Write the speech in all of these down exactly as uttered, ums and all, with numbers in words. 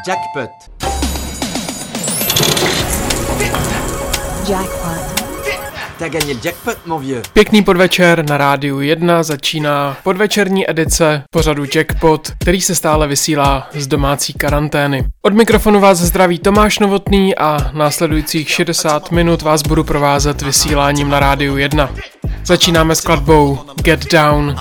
Jackpot. Jackpot. T'as gagné le jackpot, mon vieux. Pěkný podvečer, na rádiu jedna začíná podvečerní edice pořadu Jackpot, který se stále vysílá z domácí karantény. Od mikrofonu vás zdraví Tomáš Novotný a následujících šedesát minut vás budu provázet vysíláním na rádiu jedna. Začínáme skladbou Get Down.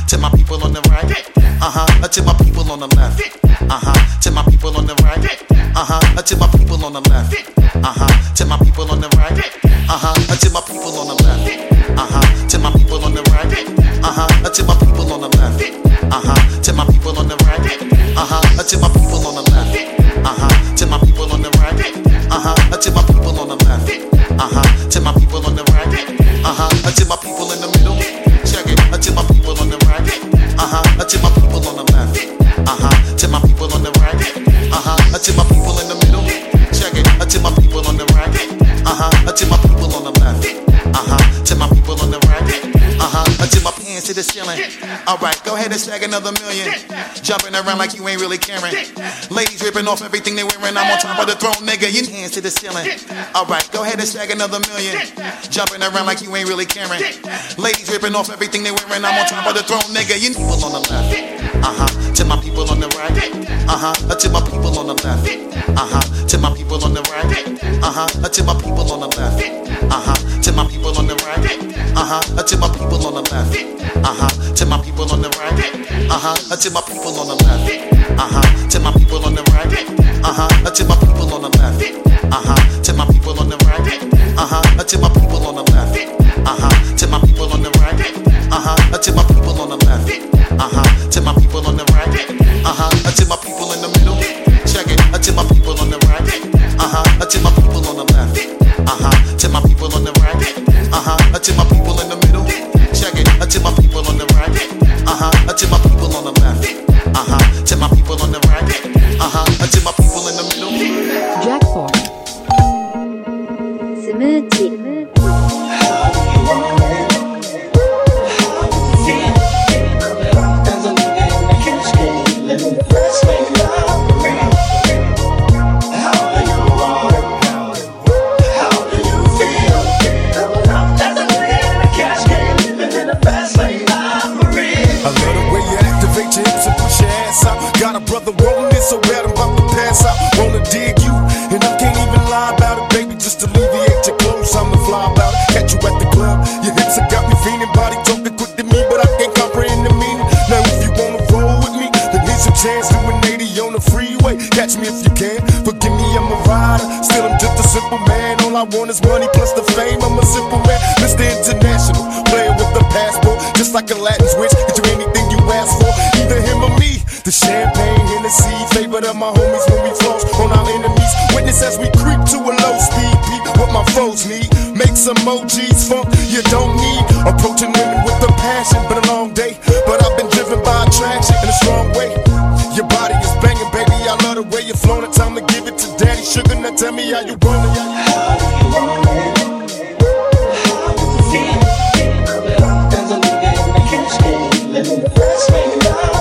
Uh-huh, to my people on the left. Uh-huh, to my people on the right. Uh-huh, to my people on the left. Uh-huh, to my people on the right. Uh-huh, to my people on the left. Uh-huh, to my people on the right. Uh-huh, to my people on the left. Uh-huh, to my people on the right. Uh-huh, to my people on the left. Uh-huh, to my people on the right. Uh-huh, to my people on the left. Uh-huh, to my people on the right. Uh-huh, to my people in the middle. Check it. To my people on the right. Uh-huh, to my people on the left. Uh-huh, to my people on the right. Uh-huh, to my people in the middle. Check it. To my people on the right. Uh-huh, to my people on the left. Uh-huh, to my people on the right. Uh-huh, to my hands to the ceiling. Alright, go ahead and snag another million. Jumping around like you ain't really caring. Ladies ripping off everything they wearing. I'm on top of the throne, nigga. Your hands to the ceiling. Alright, go ahead and snag another million. Jumping around like you ain't really caring. Ladies ripping off everything they wearing. I'm on top of the throne, nigga. Your people on the left. Uh-huh, to my people on the right. Uh-huh, to my people on the left. Uh-huh, to my people on the right. Uh-huh, to my people on the left. Uh-huh, to my people on the right. Uh-huh, to my people on the left. Uh-huh, to my people on the right. Uh-huh, to my people on the left. Uh-huh, to my people on the right. Uh-huh, to my people on the left. Uh-huh, to my people on the right. Uh-huh, to my people on the left. Uh-huh, to my people on the right. Uh-huh, to my people on the left. Uh-huh, to my people on the right. Uh-huh, to my people in the middle. Check it. To my people on the right. Uh-huh, to my people on the left. Uh-huh, to my people on the right. Uh-huh, to my people in the middle. Check it. To my people on the right. Uh-huh, to my people on the left. Uh-huh, to my people on the right. Uh-huh, to my people in the middle. Jackpot. スムージー Got a brother rolling it so bad I'm about to pass out. Wanna dig you, and I can't even lie about it, baby. Just alleviate your clothes, I'm the fly about it. Catch you at the club, your hips have got me feeling. Body talking quick to me, but I can't comprehend the meaning. Now if you wanna roll with me, then here's your chance. Doing eighty on the freeway, catch me if you can. Forgive me, I'm a rider, still I'm just a simple man. All I want is money plus the fame, I'm a simple man. Mister International, player with the passport. Just like a Latin switch, get you anything you ask for. Either him or me. The champagne, Hennessy, favorite of my homies when we floss on our enemies. Witness as we creep to a low speed, beat what my foes need. Make some O Gs funk you don't need. Approaching women with a passion, been a long day, but I've been driven by attraction in a strong way. Your body is banging, baby, I love the way you're flowing. Time to give it to daddy sugar, now tell me how you want it. How do you want it? How do you feel? There's a nigga in the cash game, living the fast way now.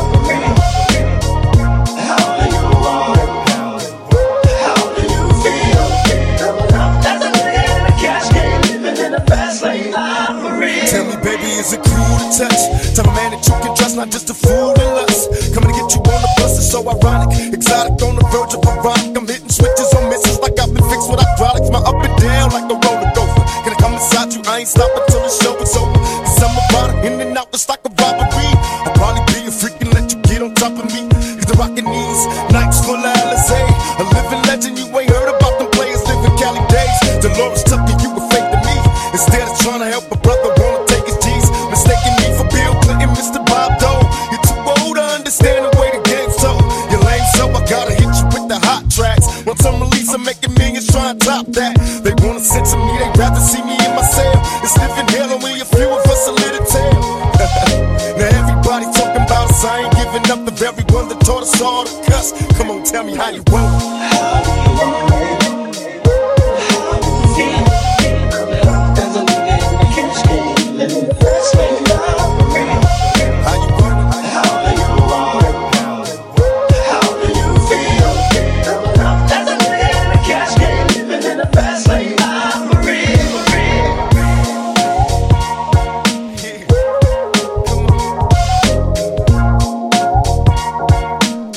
Tell me, baby, is it cool to touch? Tell a man that you can trust, not just a fool in lust. Coming to get you on the bus is so ironic. Exotic on the verge of erotic. I'm hitting switches on misses like I've been fixed with hydraulics. My up and down like a roller gopher. Can I come inside you? I ain't stopping till the show is over. Cause I'm about it, in and out just like a robbery. I'll probably be a freak and let you get on top of me. Cause the rockin' these nights full of Alizé. A living legend, you ain't heard about them players living Cali days. Dolores Tucker, you were fake to me. Instead of trying to help a brother, wanna take his G's. Mistaking me for Bill Clinton, Mister Bob Dole. You're too old to understand the way the game's told. You're lame, so I gotta hit you with the hot tracks. Once I'm released, I'm making millions, try and top that. They wanna censor me, they rather see me in my cell. It's living hell, only a few of us a little tale. Now everybody talking about us, I ain't giving up the very one that taught us all to cuss. Come on, tell me how you want it. How do you want it? How do you feel? There's a nigga in the cash game, living the fast way now. How you want it? How do you want it? How do you feel?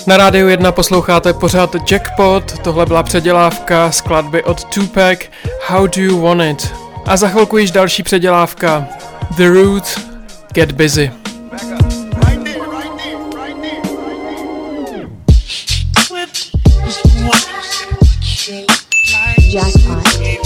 Na Rádiu jedna posloucháte pořád Jackpot, tohle byla předělávka skladby od Tupac How Do You Want It. A za chvilku již další předělávka The Root, Get Busy. Jackpot.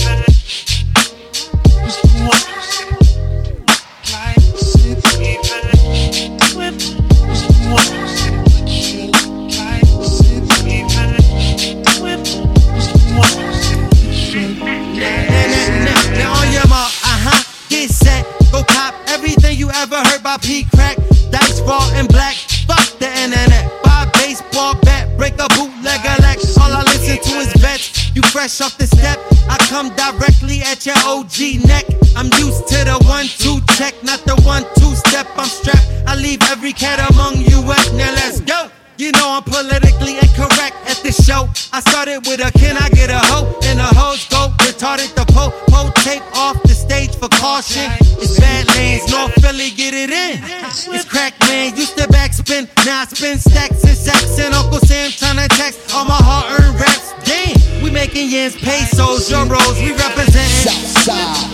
Ever heard about P-Crack, dice ball and black, fuck the internet, buy a baseball bat, break a bootleg a leg, all I listen to is vets, you fresh off the step, I come directly at your O G neck, I'm used to the one two check, not the one two step, I'm strapped, I leave every cat among you wet, now let's go. You know I'm politically incorrect at this show. I started with a can I get a hoe? And the hoes go retarded the po po tape off the stage for caution. It's bad lanes, North Philly, get it in. It's crack man, used to backspin, now I spin stacks and sacks. And Uncle Sam tryna tax all my hard-earned raps. Damn, we making yens, pesos, euros, we representing Southside.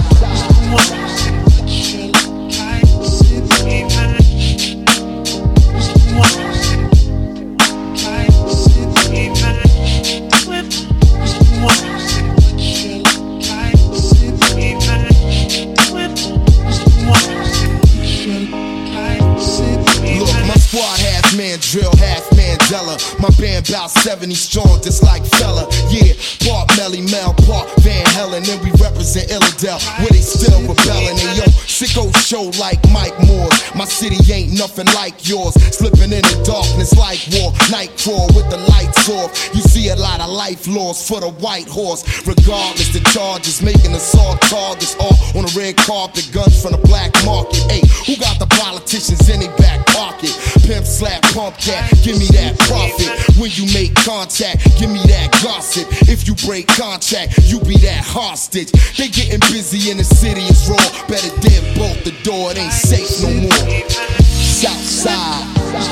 Man drill, half Mandela. My band bout seventy strong, just like fella. Yeah, Bart, Melly, Mel, Park, Van Helen, and we represent Illidale, where they still rebelling. And yo, sicko show like Mike Moore's. My city ain't nothing like yours. Slipping in the darkness like war. Night crawl with the lights off. You see a lot of life lost for the white horse. Regardless, the charges making assault targets all on the red carpet. Guns from the black market. Hey, who got the politicians in their back pocket? Pimp slap, pump that, give me that profit. When you make contact, give me that gossip. If you break contract, you be that hostage. They getting busy in the city, it's raw. Better dip bolt the door, it ain't safe no more. Southside.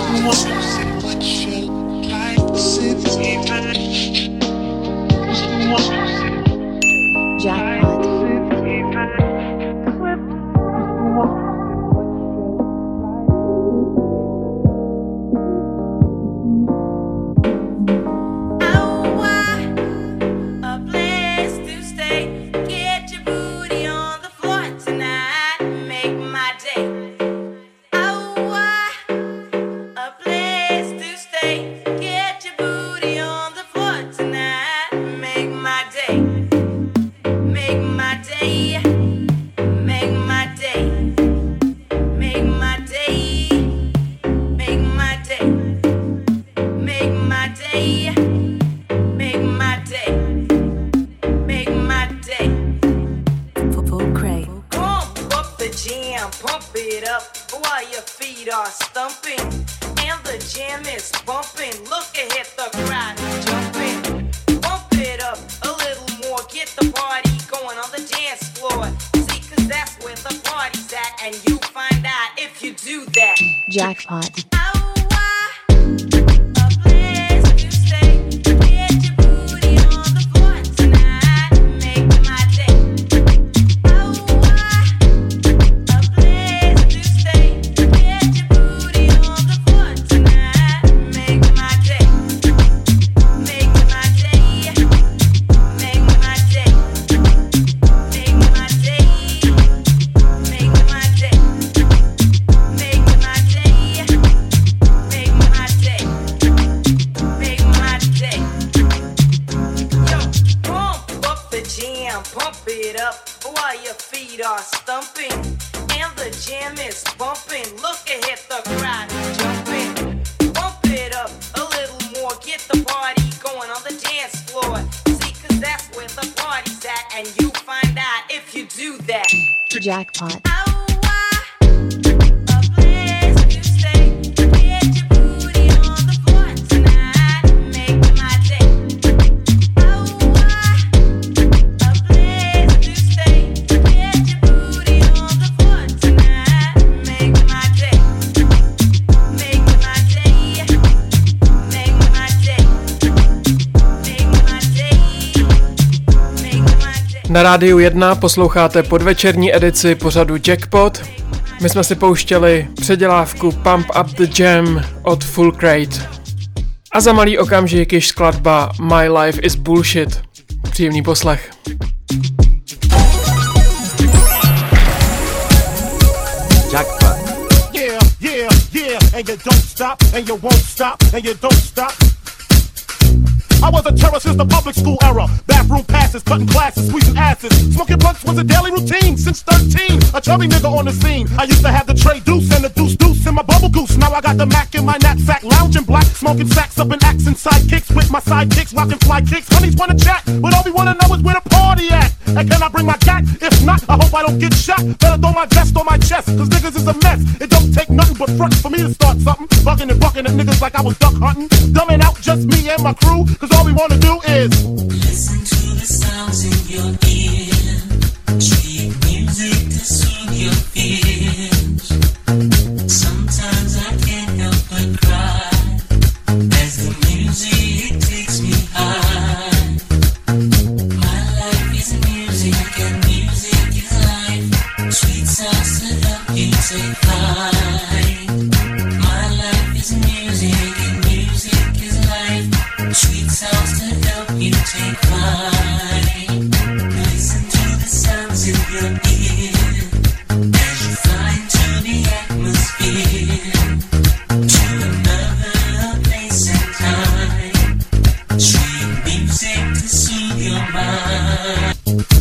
Jackpot. Jackpot. Jackpot. Make my day. Na Rádiu jedna posloucháte podvečerní edici pořadu Jackpot. My jsme si pouštěli předělávku Pump Up the Jam od Full Crate. A za malý okamžik již skladba My Life is Bullshit. Příjemný poslech. Jackpot. Yeah, yeah, yeah, and you don't stop, and you won't stop, and you don't stop. I was a terror since the public school era. Bathroom passes, cutting classes, squeezing asses. Smoking blunts was a daily routine since thirteen. A chubby nigga on the scene. I used to have the tray deuce and the deuce deuce in my bubble goose. Now I got the Mac in my knapsack, lounging black, smoking sacks up in accent sidekicks with my sidekicks, rocking fly kicks. Honeys wanna chat, but all we wanna know is where the party at. And can I bring my gat? If not, I hope I don't get shot. Better throw my vest on my chest, cause niggas is a mess. It don't take nothing but front for me to start something. Bugging and bucking at niggas like I was duck hunting. Dumbing out just me and my crew, cause all we wanna do is listen to the sounds in your ear. Treat music to soothe your fears. Sometimes I can't help but cry as the music takes me high. My life is music and music is life. Sweet sounds to help you take flight. My life is music and music is life. Sweet sounds to help you take flight. Listen to the sounds in your ear as you fly into the atmosphere to another place and time. Sweet music to soothe your mind.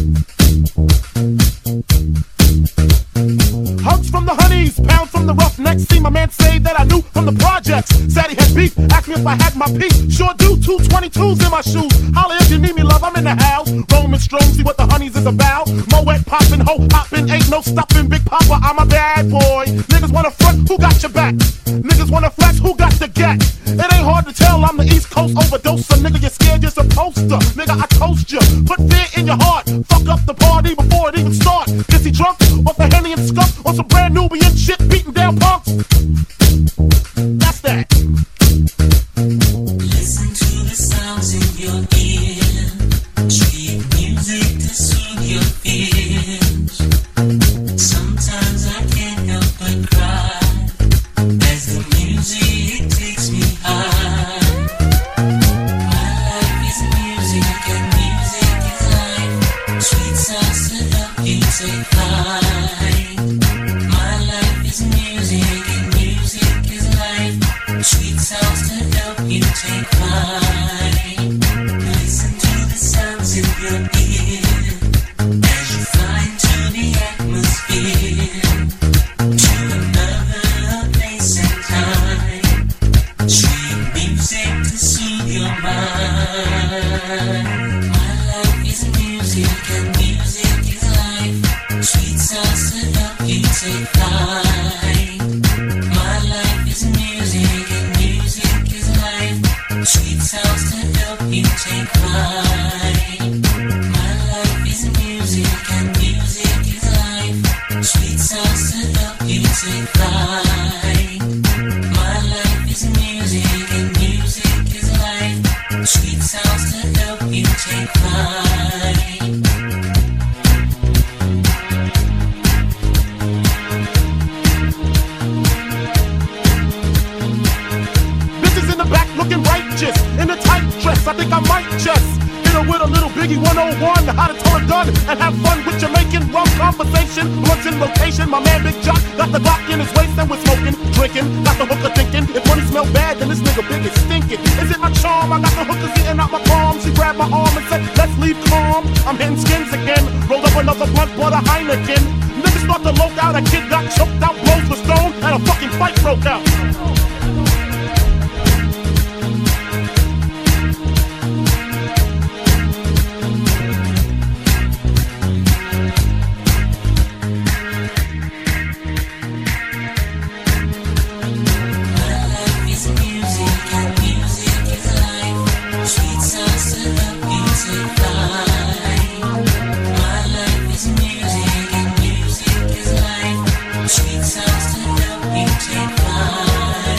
hugs from the honeys, pounds from the roughnecks. See my man say that I knew from the projects. Said he had beef, asked me if I had my piece. Sure do, two twenty-twos in my shoes. Holla if you need me, love, I'm in the house. Roman strong, see what the honeys is about. Moet poppin', ho hoppin', ain't no stoppin'. Big Papa, I'm a bad boy. Niggas wanna front, who got your back? Niggas wanna flex, who got the gat? It ain't hard to tell, I'm the East Coast overdoser. Nigga, you're scared, you're supposed to. Nigga, I toast you. Put fear in your heart. Fuck up the party before it even start. Is he drunk? Off the Henny and skunk? On some brand Nubian shit, beating down punks? That's that. Listen to the sounds in your ear. Treat music to soothe your fears. Sometimes I can't help but cry as the music takes me high. My life is music and music is life. Sweet sounds to help you take flight. My life is music and music is life. Sweet sounds to help you take flight. Listen to the sounds in your ear as you fly into the atmosphere to another place and time. Sweet music to soothe your mind. My life is music and music is life. Sweet sounds to help you take flight. My life is music and music is life. Sweet sounds to help you take flight. My life is music and music is life. Sweet sounds to help you take flight. My life is music and music is life. Sweet sounds to help you take flight. Bitches in the back looking righteous in a tight dress. I think I might just hit her with a little Biggie one oh one, how to tow a gun and have fun with Jamaican rum conversation. Blunts in rotation, my man Big Jock got the Glock in his waist and we're smoking, drinking. Got the hooker thinking, if money smell bad, then this nigga big is stinking. Is it my charm? I got the hookers eating out my palm. She grabbed my arm and said, let's leave calm. I'm hitting skins again, rolled up another blunt, bought a Heineken. Niggas start to loke out, a kid got choked out, blows were thrown, and a fucking fight broke out. Sweet sounds to help you take flight.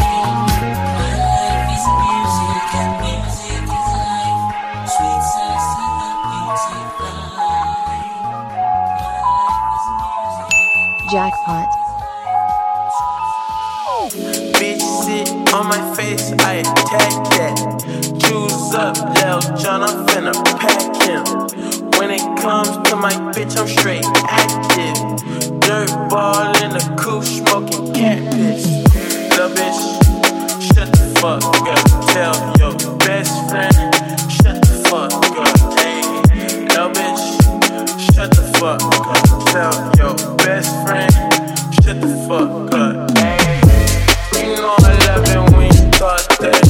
on my face, I attack that. Choose up, Lil Jon, I'm finna pack him. When it comes to my bitch, I'm straight active. Dirt ball in the coupe, smoking cat piss. Lil' bitch, shut the fuck up. Tell your best friend, shut the fuck up. Hey, lil' bitch, shut the fuck up. Tell your best friend, shut the fuck up. Hey, you know I love it when you talk that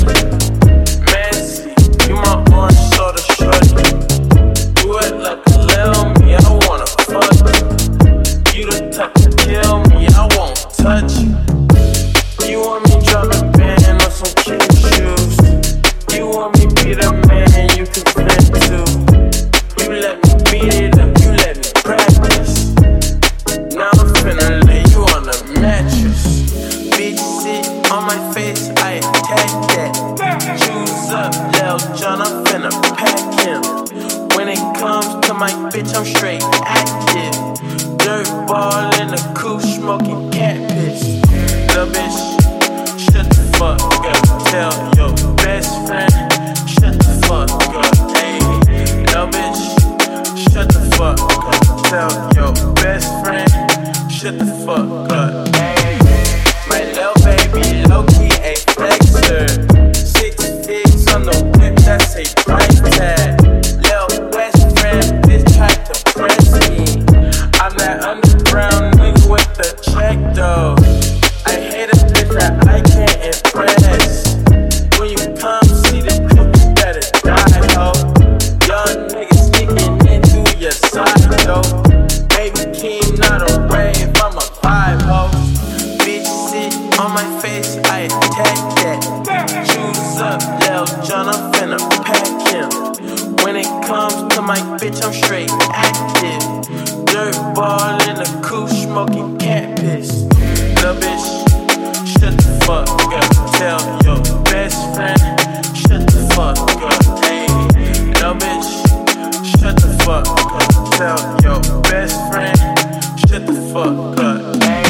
messy. You my orange soda shorty. Do it like a lil' me, I wanna fuck you. You the type to kill me, I won't touch you. You want me driving band on some kid shoes. You want me be the man you can vent to. You let me beat it up, you let me practice. Now I'm finna lay you on the mattress. Bitch sit on my face, I attack that. Choose up, Lil Jon, I'm finna pack him. When it comes to my bitch, I'm straight active. Dirt ball in the coupe, smoking cat piss. Lil' bitch, shut the fuck up. Tell your best friend, shut the fuck up. Hey, lil' bitch, shut the fuck up. Tell your best friend, shut the fuck up. Hey, my lil' baby, low-key a flexer. Six figs on the whip, that's a price tag. Lil' best friend, bitch tried to press me. I'm that underground nigga with the check though. I hate a bitch that I can't impress. When you come see the clip, you better die, ho. Young niggas sneaking into your side, though. Baby king, not a rave, I'm a vibe, ho. Bitch sit on my face, I attack that. Choose up, Lil Jon, I'm finna pack him. When it comes to my bitch, I'm straight active. Dirt ball in the coupe, smoking cat piss. Lil' bitch, shut the fuck up. Tell your best friend, shut the fuck up. Hey, lil' bitch, shut the fuck up. Tell your best friend, shut the fuck up. Hey.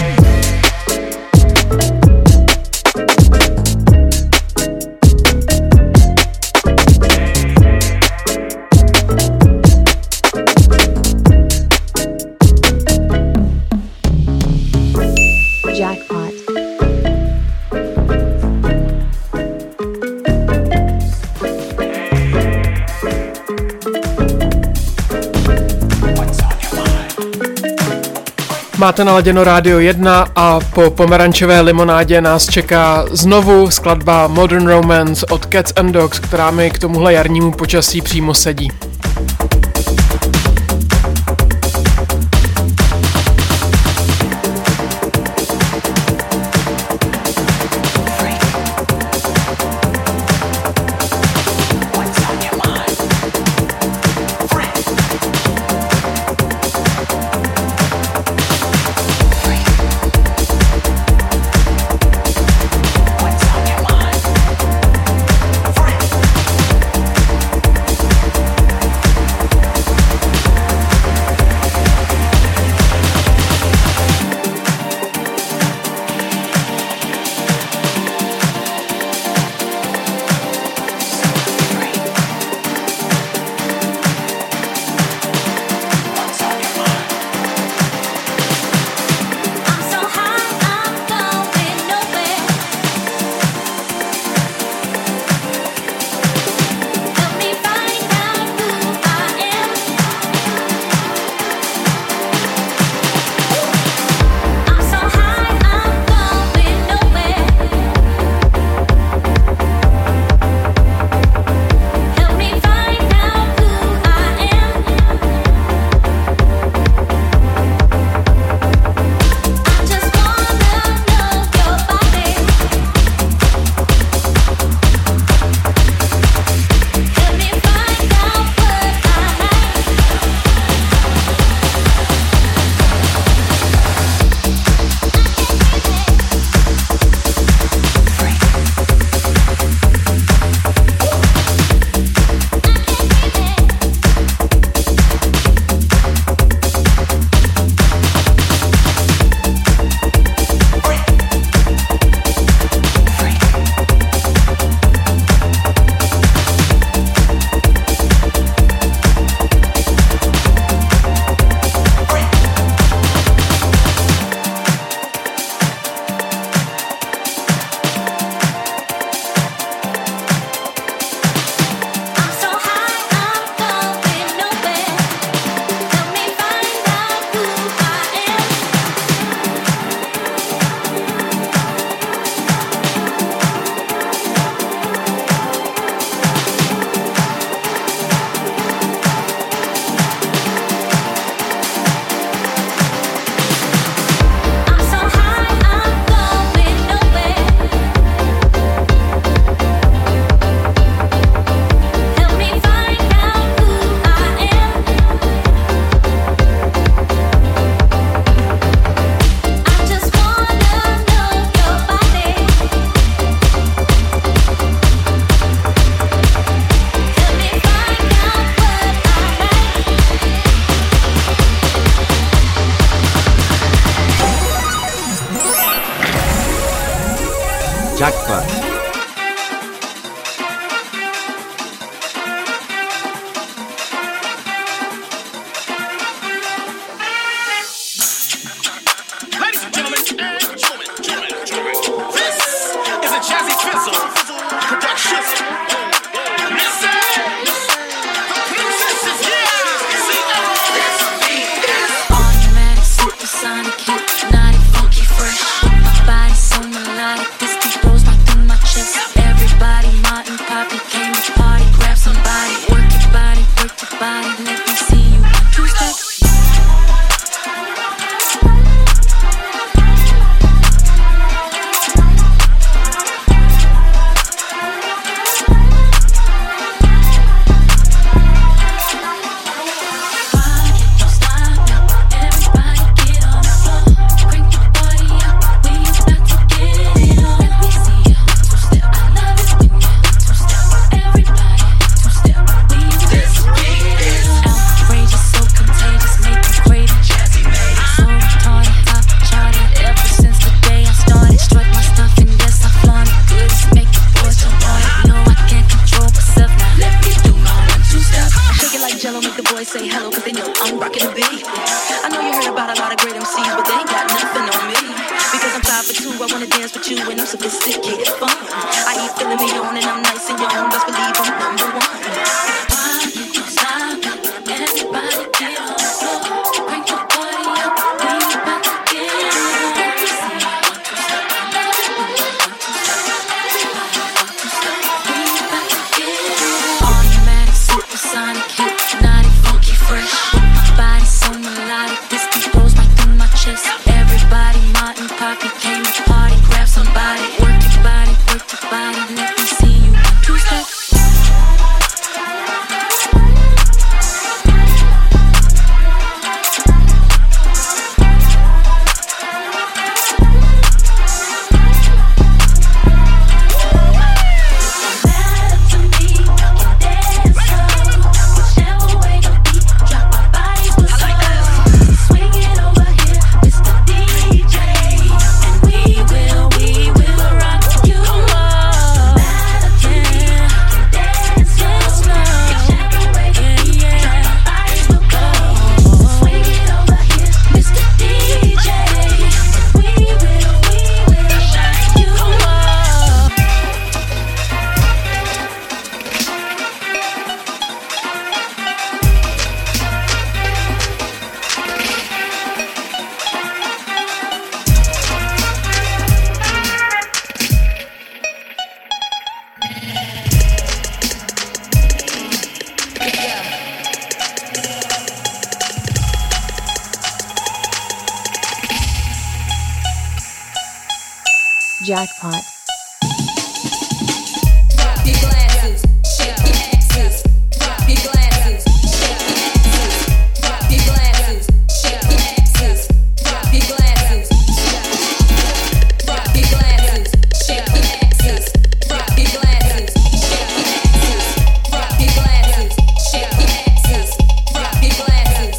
Jackpot. Máte naladěno Rádio jedna a po pomerančové limonádě nás čeká znovu skladba Modern Romance od Cats and Dogs, která mi k tomuhle jarnímu počasí přímo sedí. Free. fizzle. Put that shizzle. Listen. The princesses, yeah. See that? Automatic, supersonic, hypnotic, funky, fresh. My body so melodic, this beat rolls right through my chest. Everybody, Martin, Poppy came to party. Grab somebody, work your body, work your body. Let me see you two step. Say hello, cause they know I'm rockin' the beat. I know you heard about a lot of great M Cs, but they ain't got nothing on me. Because I'm five for two, I wanna dance with you, and I'm sophisticated fun. I eat filling me on, and I'm nice and young. Best believe I'm number one. Why you don't stop? Everybody get on the floor. Crank your body up, we about to get it on. Let me see you want to stop. We about to get it on. Automatic, supersonic, hypnotic, funky, fresh. My body so melodic, this beat rolls right through my chest. Everybody, Martin, Poppy came to party. Grab somebody, work your body, work your body. Let me see you two step. Jackpot. Drop your glasses, shake your asses. Drop your glasses, shake your asses. Drop your glasses, shake your asses. Drop your glasses. Drop your glasses, shake your asses. Drop your glasses, shake your asses. Drop your glasses, shake your asses. Drop your glasses.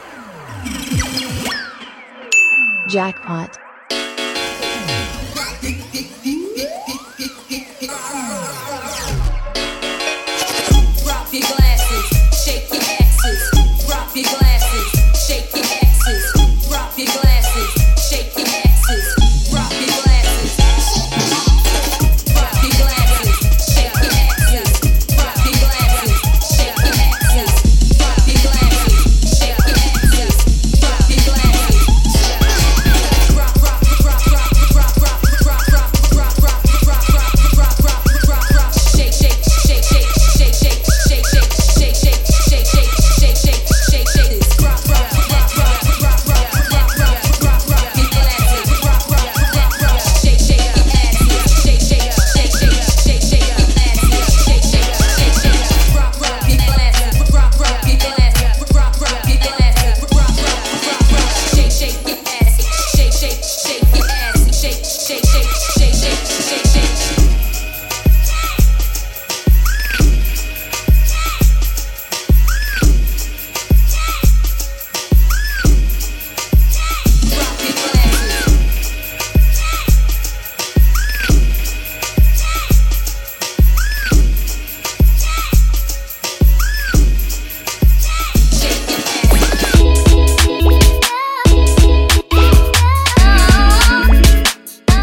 Jackpot. Drop your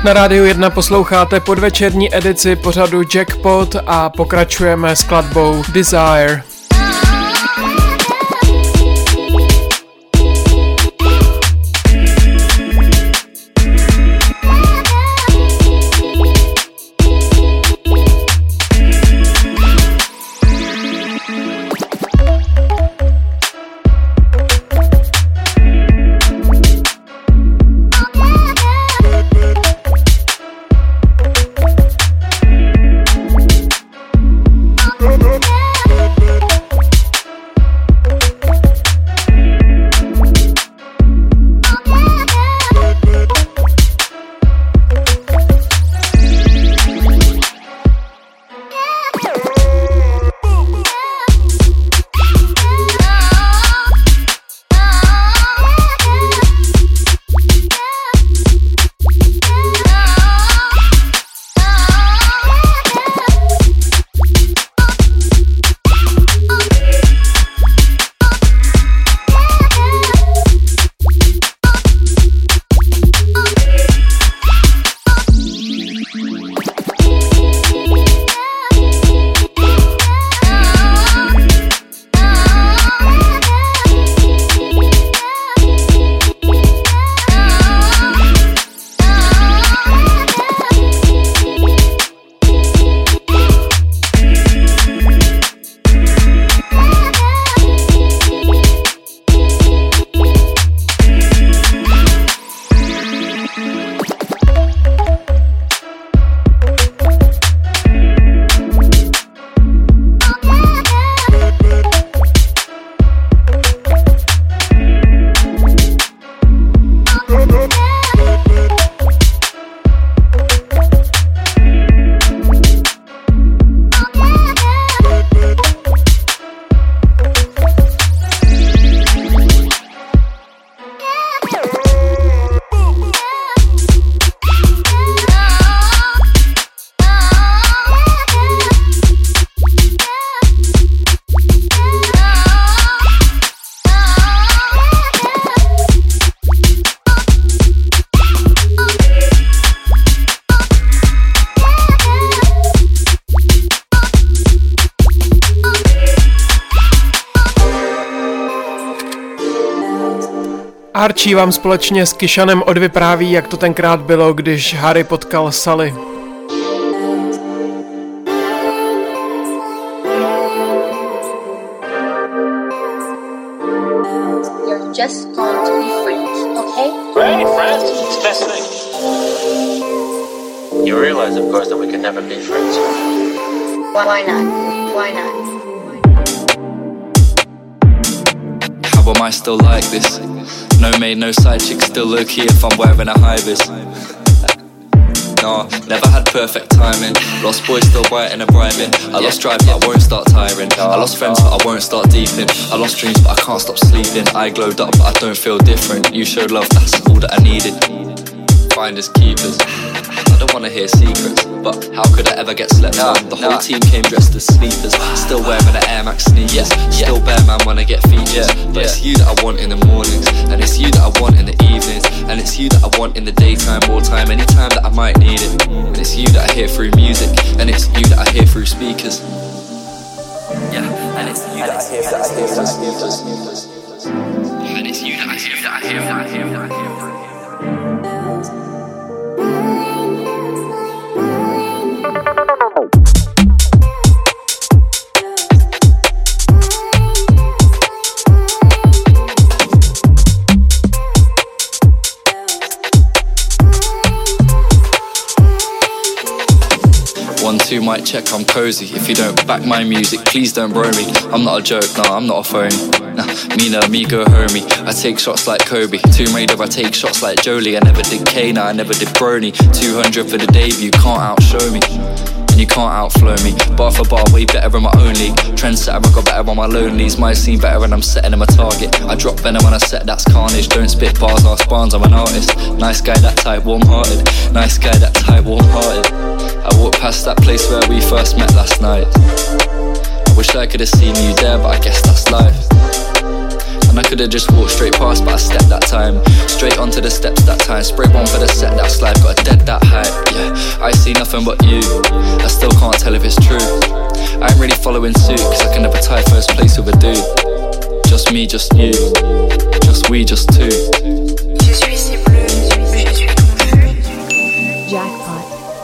Na Rádiu jedna posloucháte podvečerní edici pořadu Jackpot a pokračujeme skladbou Desire. Archie vám společně s Kishanem odvypráví, jak to tenkrát bylo, když Harry potkal Sally. You're just going to be friends, okay? Right, friends, it's the best thing. You realize, of course, that we can never be friends. Why not? Why not? How am I still like this? No maid, no side chick, still low key if I'm wearing a high vis. Nah, never had perfect timing. Lost boys still white in a bribing. I lost drive but I won't start tiring. I lost friends but I won't start deeping. I lost dreams but I can't stop sleeping. I glowed up but I don't feel different. You showed love, that's all that I needed. Finders keepers, I don't wanna hear secrets, but how could I ever get slept on? The whole team came dressed as sleepers, still wearing the Air Max sneakers. Still bare man when I get features, but it's you that I want in the mornings, and it's you that I want in the evenings, and it's you that I want in the daytime, all time, anytime that I might need it. And it's you that I hear through music, and it's you that I hear through speakers. Yeah, and it's you that I hear through speakers. And it's you that I hear that I hear that I hear that I hear. One, two, mic check, I'm cozy. If you don't back my music, please don't bro me. I'm not a joke, nah, I'm not a phony. Nah, me no amigo homie. I take shots like Kobe. Tomb Raider, I take shots like Jolie. I never did K, nah, I never did Brony. two hundred for the debut, can't outshow me. And you can't outflow me. Bar for bar, way better in my own league. Trendsetter, I got better on my lonelies. My scene better when I'm setting them a target. I drop venom when I set, that's carnage. Don't spit bars, ask Barnes, I'm an artist. Nice guy, that type, warm-hearted. Nice guy, that type, warm-hearted. I walked past that place where we first met last night. I wish I could have seen you there, but I guess that's life. And I could've just walked straight past, but I stepped that time. Straight onto the steps that time. Spray one for the set that slide. Got a dead that height. Yeah, I see nothing but you. I still can't tell if it's true. I ain't really following suit, cause I can never tie first place with a dude. Just me, just you. Just we, just two. Je suis si bleu, je suis confus. Jackpot.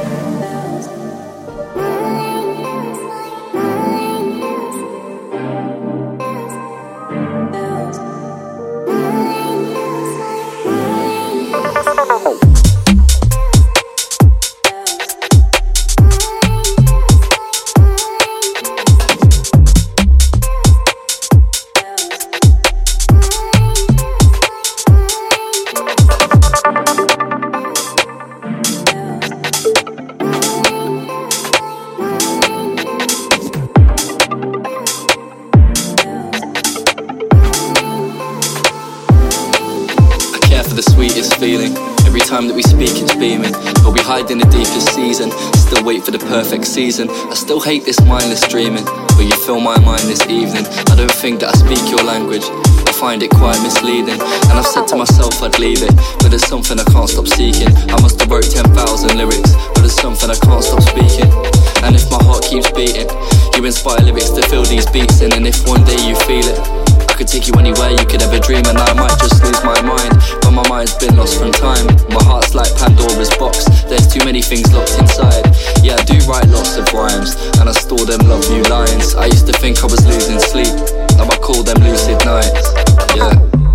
Time that we speak it's beaming, but we hide in the deepest season. Still wait for the perfect season. I still hate this mindless dreaming, but you fill my mind this evening. I don't think that I speak your language, I find it quite misleading. And I've said to myself I'd leave it, but there's something I can't stop seeking. I must have wrote ten thousand lyrics, but there's something I can't stop speaking. And if my heart keeps beating, you inspire lyrics to fill these beats in. And if one day you feel it, I could take you anywhere you could ever dream, and I might just lose my mind. But my mind's been lost from time. My heart's like Pandora's box, there's too many things locked inside. Yeah, I do write lots of rhymes, and I store them love you lines. I used to think I was losing sleep, now I call them lucid nights. Yeah.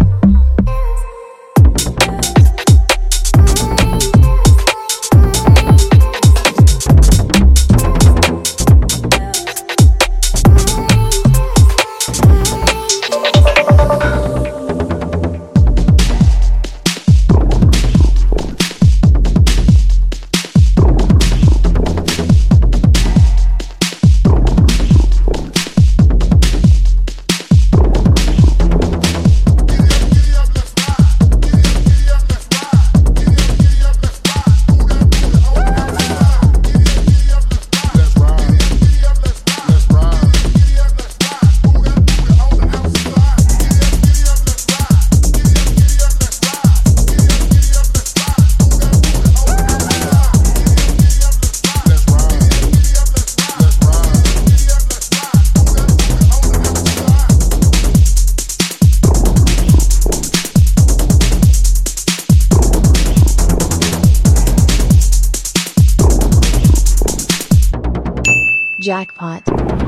Jackpot.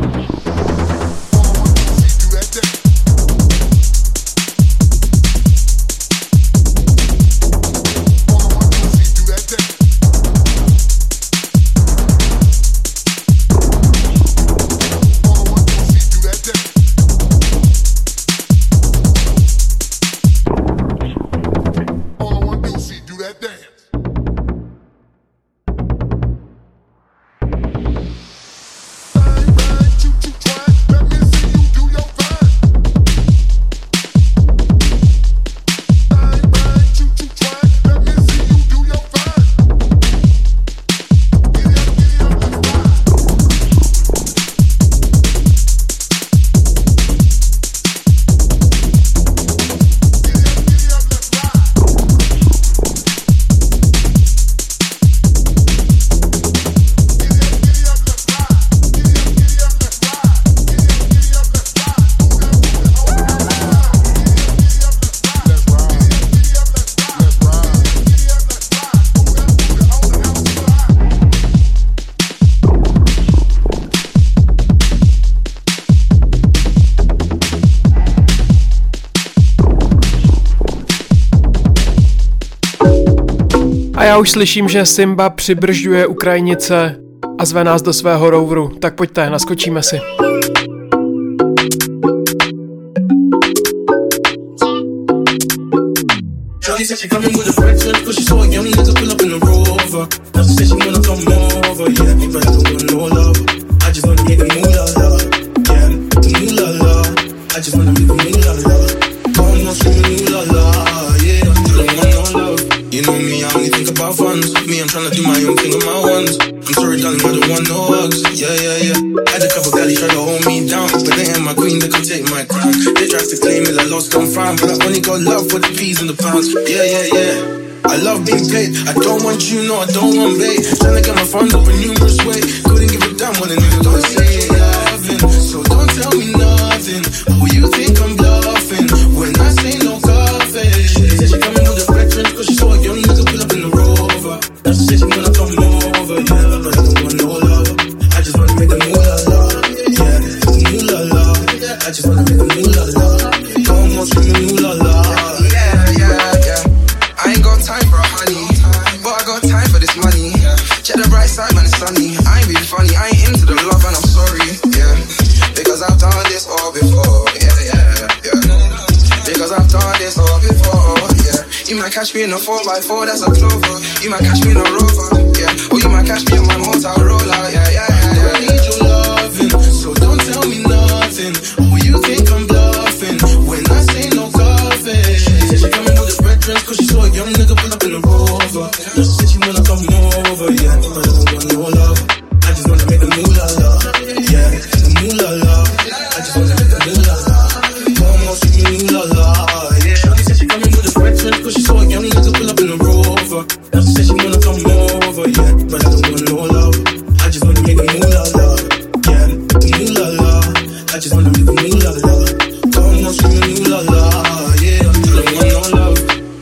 A já už slyším, že Simba přibržďuje Ukrajinice a zve nás do svého roveru. Tak pojďte, naskočíme si. Shorty said she coming with a friend, cause she saw a young nigga pull up in a Rover. Now she said she wanna come over, yeah, if I don't want no love. I just wanna make a moolah la, yeah, the moolah la. I just wanna make a moolah la. Come on, scream moolah la, yeah, I don't want no love. You know me, I only think about funds. Me, I'm tryna do my I'm king of my ones. I'm sorry, darling, I don't want no hugs. Yeah, yeah, yeah. Had a couple galleys try to hold me down, but they ain't my queen, they can take my crown. They tried to claim it, I lost, don't find, but I only got love for the peas and the pounds. Yeah, yeah, yeah. I love being paid. I don't want you, no, I don't want bait. Tryna get my funds up in numerous ways. Couldn't give a damn when a nigga don't say loving. So don't tell me nothing. Who you think I'm bluffing? When I say no coffee. She said she coming with the veterans, cause she saw a young nigga pull up in the Rover. Now she said she wanna come over, yeah, but I don't want no love. I just wanna make the moolah la, yeah, the moolah la. I just wanna make the moolah la. Come on, scream the moolah la. Yeah, yeah, yeah. I ain't got time for a honey, but I got time for this money. Check the bright side when it's sunny. I ain't being funny, I ain't into the love and I'm sorry, yeah. Because I've done this all before, yeah, yeah, yeah. Because I've done this all before, yeah. You might catch me in a four by four, that's a clover. You might catch me in a Rover, yeah. Or you might catch me on my Motorola, yeah, yeah, yeah. I need your loving, so don't tell me nothing. Who you think I'm bluffing? When I say no coffee. She said she coming with the veterans, cause she saw a young nigga pull up in a Rover. Now she said she wanna come over, yeah, but I don't want no love. I just wanna make the moolah la, yeah, the moolah la. I just wanna make the moolah la. Come on, see me moolah la, yeah. She said she coming with the veterans, cause she saw a young nigga pull up in a Rover. Now she said she wanna come over, yeah, but I don't want no love. I just wanna make the moolah la, yeah, the moolah la. I just wanna make the moolah la. Come on, see me moolah la, yeah. I don't want no love.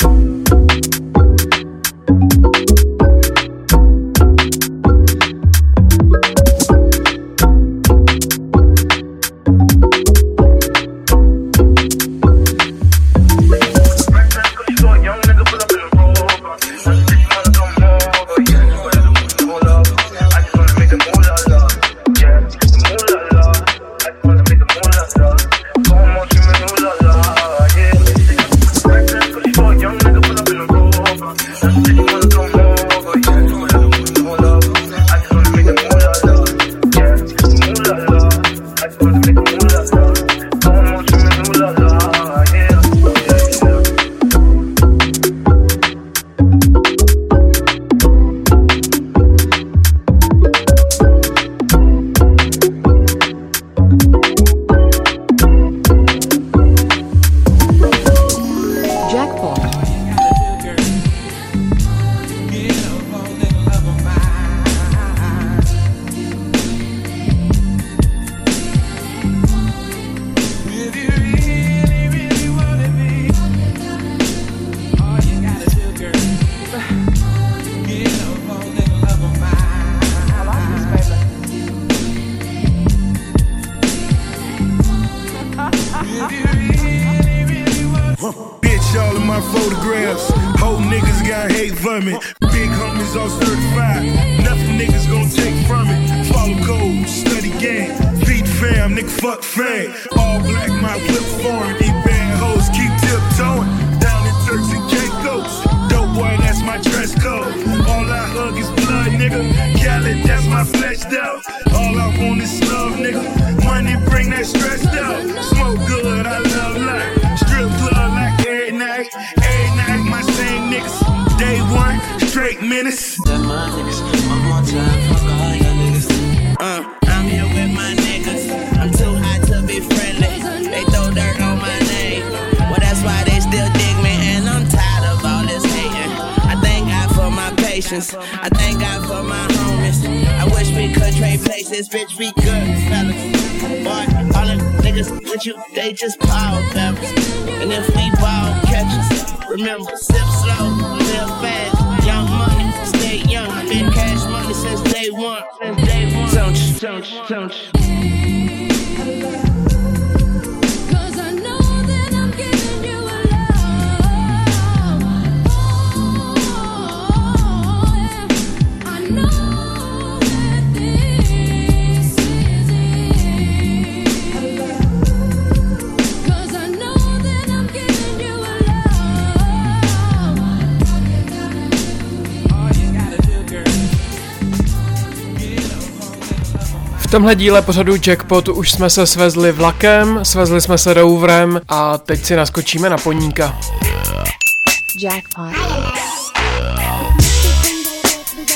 Bitch, all of my photographs. Whole niggas got hate vermin. Big homies all certified. Nothing niggas gon' take from it. Follow code, study game. Beat fam, nigga fuck fame. All black, my whip foreign. These bad hoes keep tiptoeing. Down in Turks and Caicos. Dope boy, that's my dress code. All I hug is blood, nigga. Khaled, that's my fleshed out. All I want is love, nigga. Money bring that stress out. Smoke good, I love life. Strip club like every night. Every night, my same niggas. Day one, straight menace. That my niggas, one more time, fuck all your niggas. Uh, I'm here with my niggas. I'm too hot to be friendly. They throw dirt on my name. Well, that's why they still dig me, and I'm tired of all this hating. I thank God for my patience. I thank God for my homies. I wish we could trade places, bitch, we good, fellas. Boy, all the niggas with you, they just power peppers. And if we ball catches, remember, sip slow, live fast. Young money, stay young. Been cash money since day one. Since day one. Don't you, don't you, don't you. V tomhle díle pořadu Jackpot už jsme se svezli vlakem, svezli jsme se roverem a teď si naskočíme na poníka. Jackpot.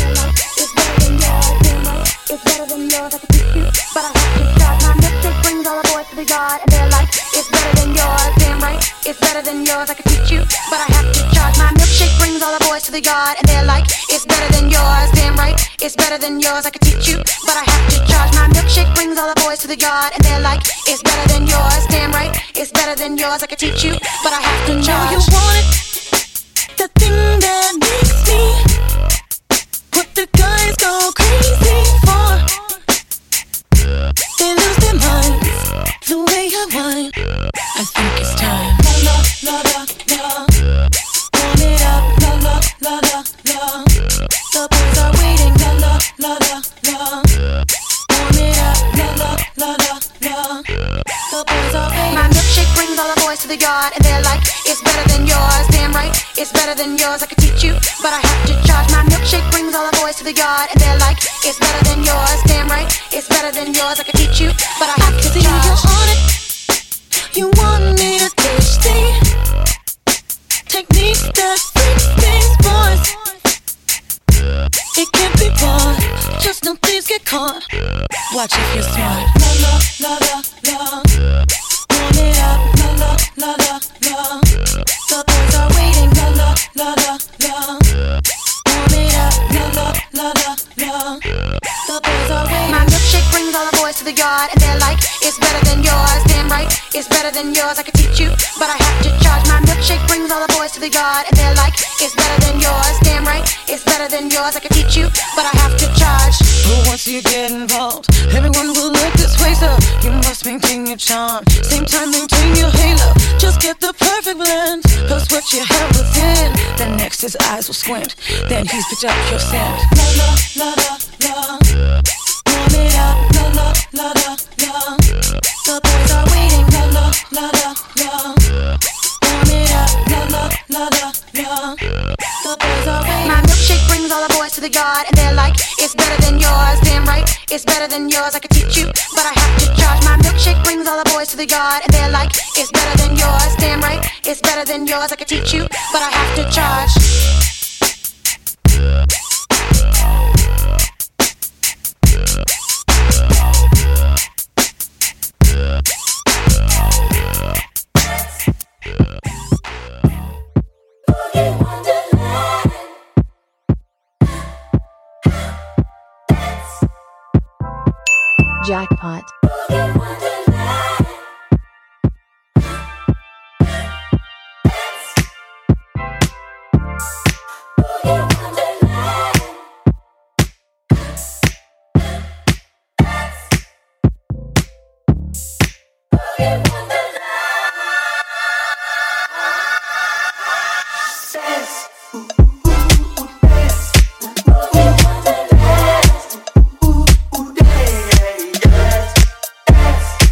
His eyes will squint, then he's picked up your scent. La la la la la, warm it up. La la la la la, the boys are waiting. La la la la la, warm it up. La la la la la, the boys are waiting. My milkshake brings all the boys to the yard, and they're like, "It's better than yours." Damn right, it's better than yours. I could teach you, but I have to charge. My milkshake brings all the boys to the yard, and they're like, "It's better than yours." Damn right, it's better than yours. I could teach you, but I have to charge. Jackpot. Dance.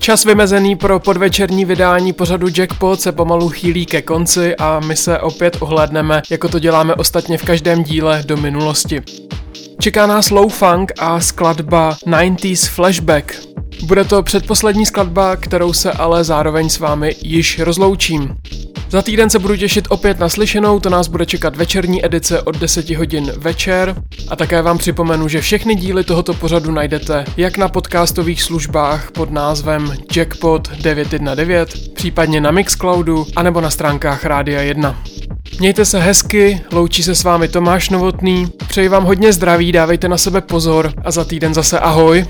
Čas vymezený pro podvečerní vydání pořadu Jackpot se pomalu chýlí ke konci a my se opět ohlédneme, jako to děláme ostatně v každém díle, do minulosti. Čeká nás low funk a skladba devadesátých Flashback. Bude to předposlední skladba, kterou se ale zároveň s vámi již rozloučím. Za týden se budu těšit opět na slyšenou, to nás bude čekat večerní edice od deset hodin večer a také vám připomenu, že všechny díly tohoto pořadu najdete jak na podcastových službách pod názvem Jackpot devět jedna devět, případně na Mixcloudu, anebo na stránkách Rádia jedna. Mějte se hezky, loučí se s vámi Tomáš Novotný, přeji vám hodně zdraví, dávejte na sebe pozor a za týden zase ahoj.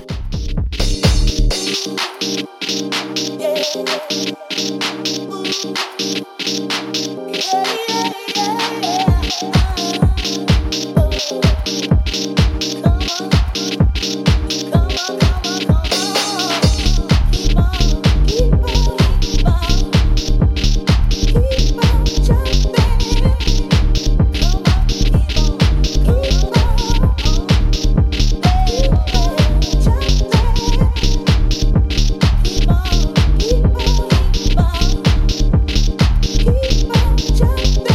Jump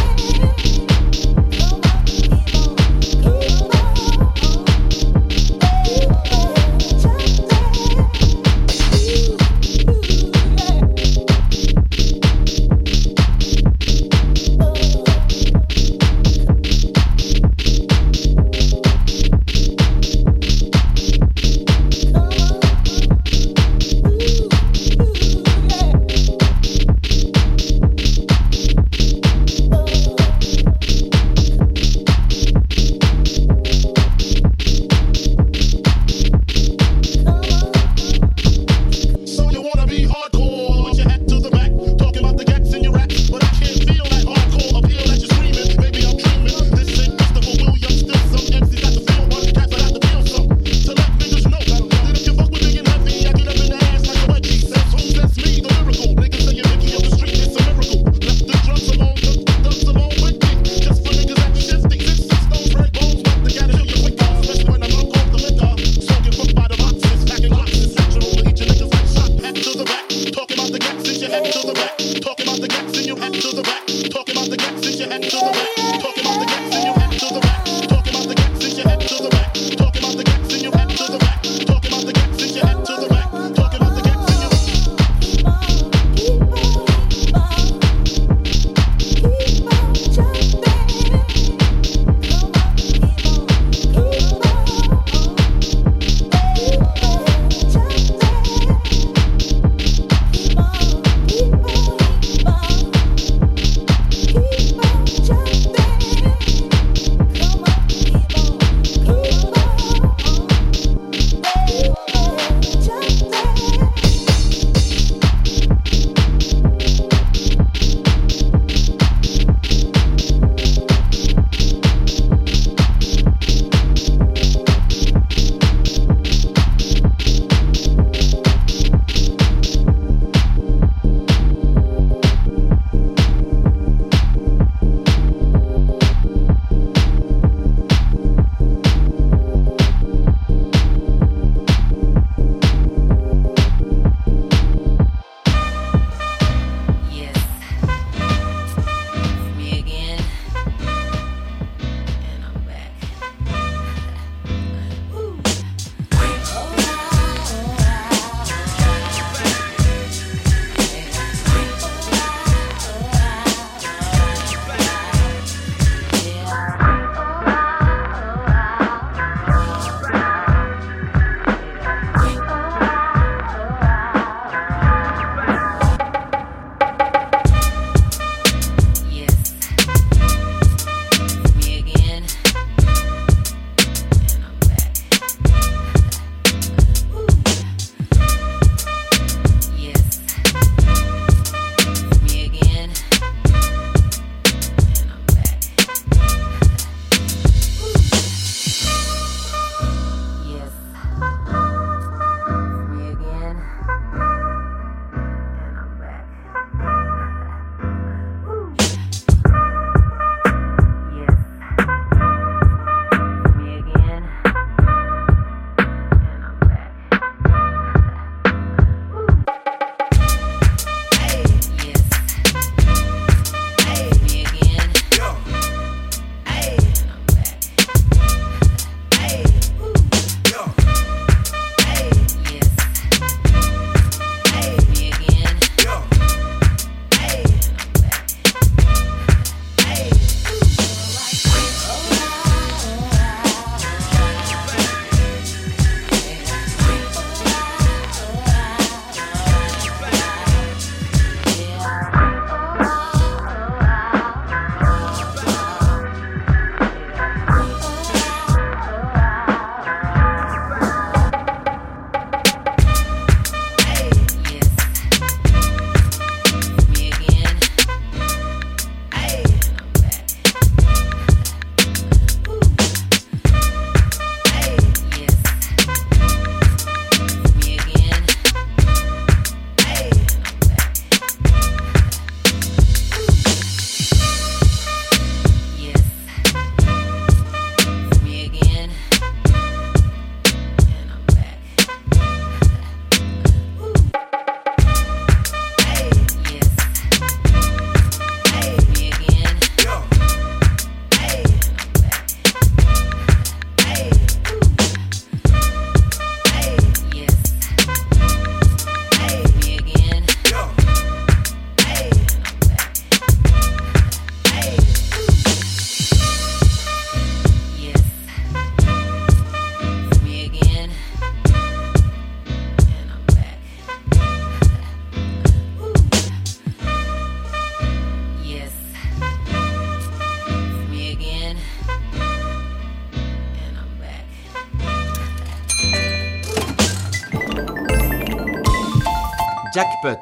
Jackpot.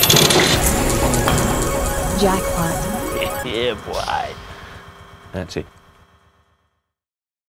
Jackpot. Yeah, boy. That's it.